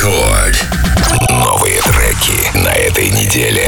Рекорд. Новые треки на этой неделе.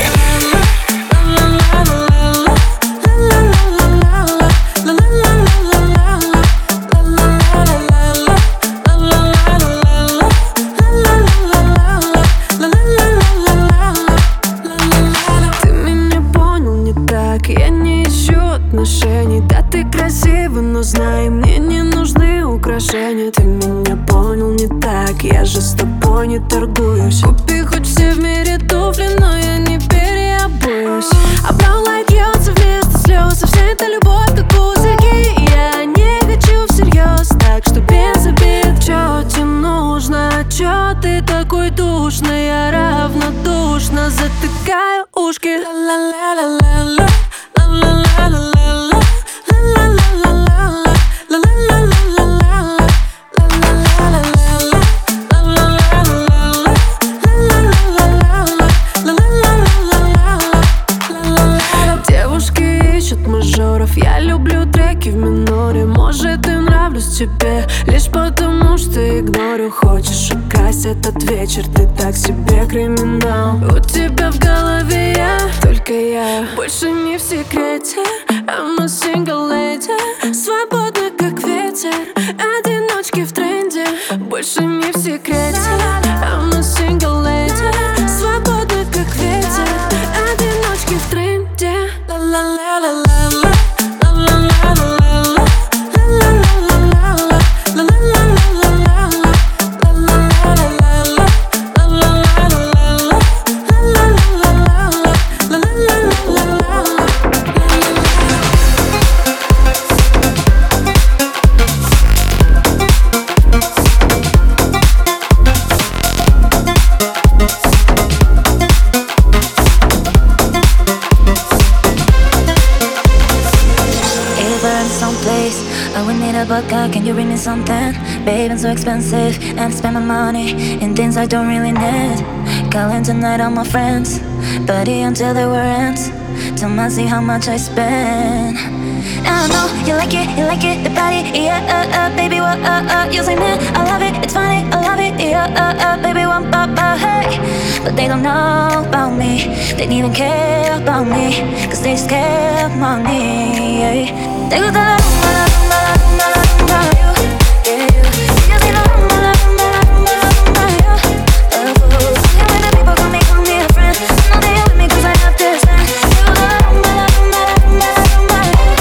Да, ты красива, но знай, мне не нужны украшения. Ты меня понял не так, я же с тобой не торгуюсь. Купи хоть все в мире туфли, но я не переобуюсь. А Brown Light льется вместо слез, и вся эта любовь как пузырьки. Я не хочу всерьез, так что без обид. Чё тебе нужно, чё ты такой душный? Я равнодушно затыкаю ушки. Ла-ла-ла-ла-ла, ла-ла-ла-ла-ла. Девушки ищут мажоров, я люблю треки в миноре. Может, и нравлюсь тебе лишь потому, что игнорю. Хочешь украсть этот вечер, ты так себе криминал. У тебя в голове я, только я, больше не в секрете. I'm a single lady, свободна как ветер, одиночки в тренде, больше не в секрете. I'm a single lady, свободна как ветер, одиночки в тренде. Ла-ла-ла-ла-ла-ла. Can you bring me something? Babe, it's so expensive, and I spend my money in things I don't really need. Calling tonight all my friends, buddy until they were ends. Tell me see how much I spend. I know you like it, the body, yeah, baby, what, you say, man, I love it, it's funny, I love it, yeah, baby, what, hey. But they don't know about me, they don't even care about me, cause they just care of money, yeah. They go down la rumba, la rumba, la rumba, la rumba, you, yeah, you. Ellos say la rumba, la rumba, la rumba, la rumba, yeah. Yeah, when the people call me a friend, I know they with me cause I have this, man. They go down la rumba, la rumba, la rumba, la rumba,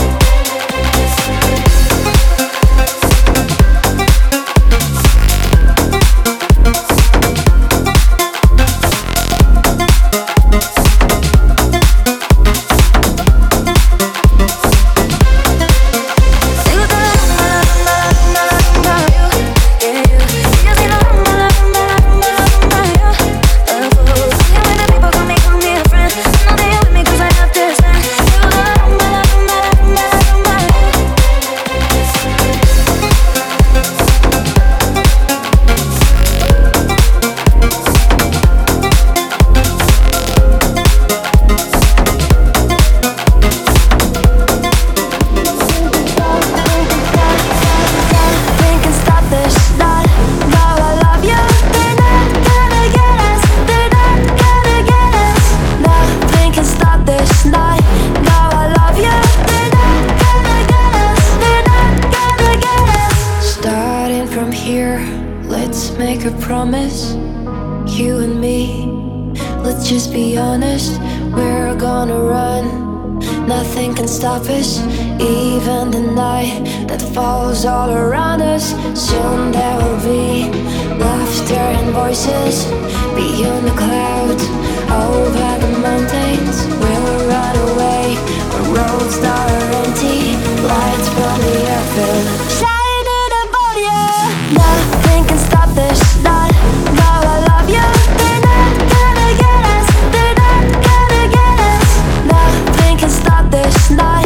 stop us, even the night that falls all around us. Soon there will be laughter and voices beyond the clouds, over the mountains. We'll run away where roads that are empty, lights from the airfield shining above you. Nothing can stop this night. Now I love you. They're not gonna get us. They're not gonna get us. Nothing can stop this night.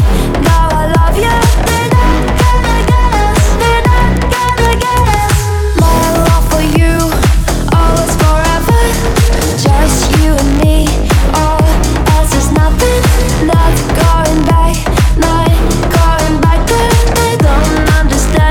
Nothing, not going back, not going back there. They don't understand.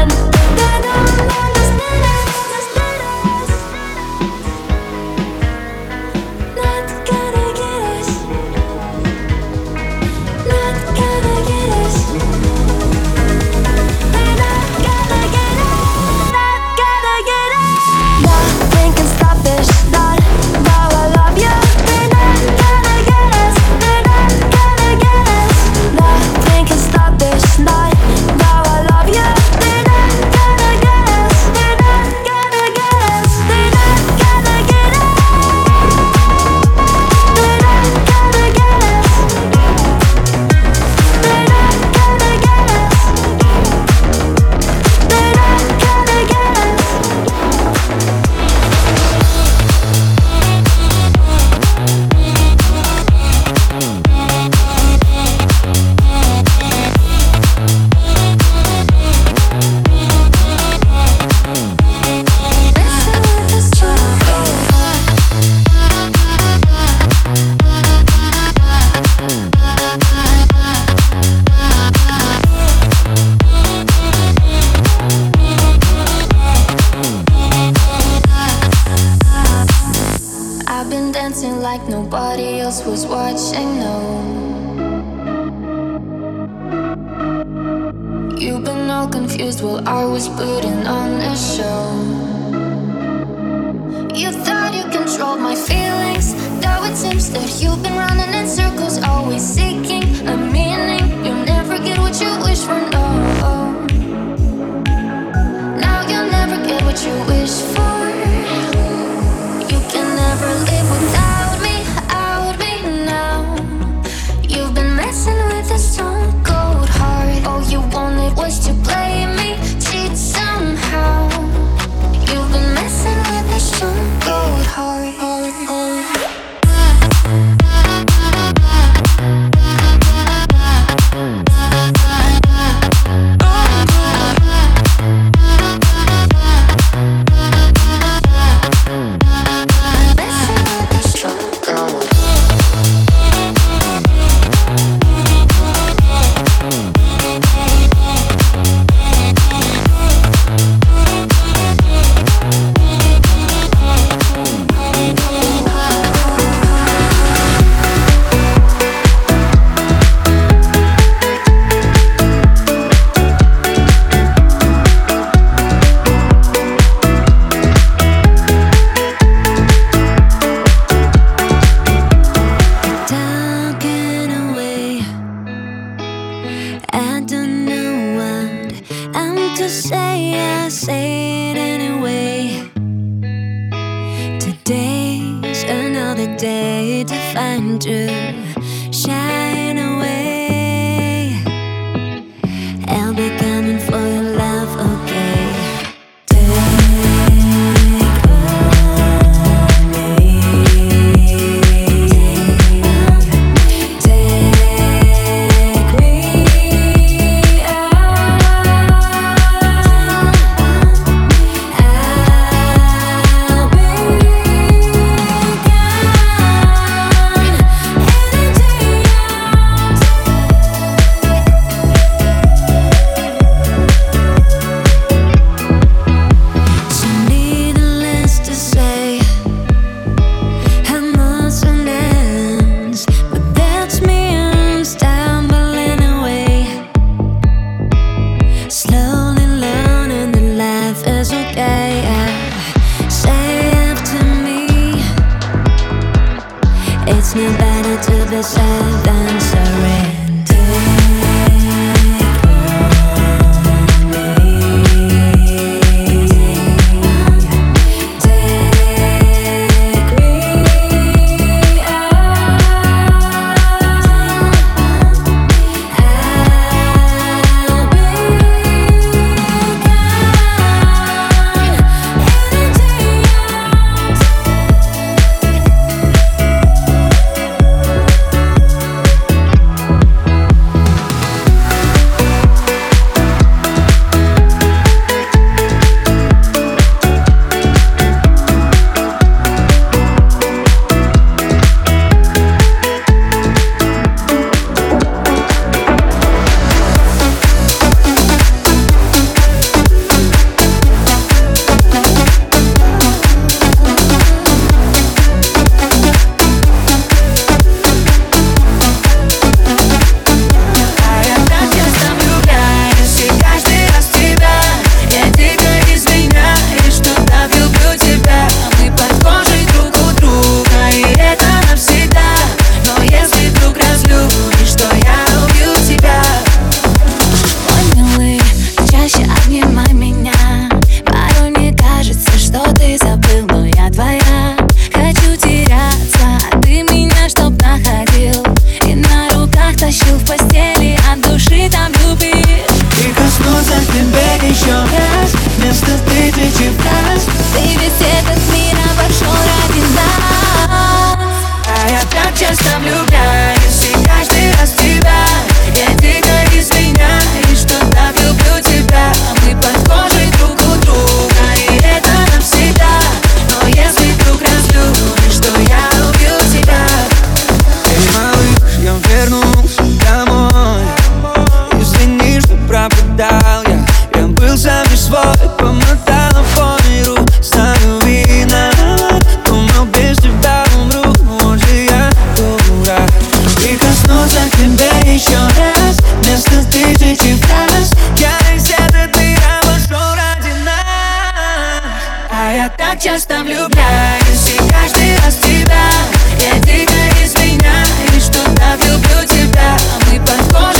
dancing like nobody else was watching, no. You've been all confused while I was putting on a show. You thought you controlled my feelings. Now it seems that you've been running in circles, always seeking a meaning. You never get what you wish for, no. Now you'll never get what you wish for. You can never live without me now. You've been messing with a stone cold heart. All you wanted was to play me, cheat somehow. You've been messing with a stone cold heart. I don't know what I'm to say, I say it anyway. Today's another day to find you, shine away. I'll be coming for your love, okay? It's no better to be sad than surrender. так часто влюбляюсь, и каждый раз в тебя. Я дико извиняюсь, что так люблю тебя. Мы подходим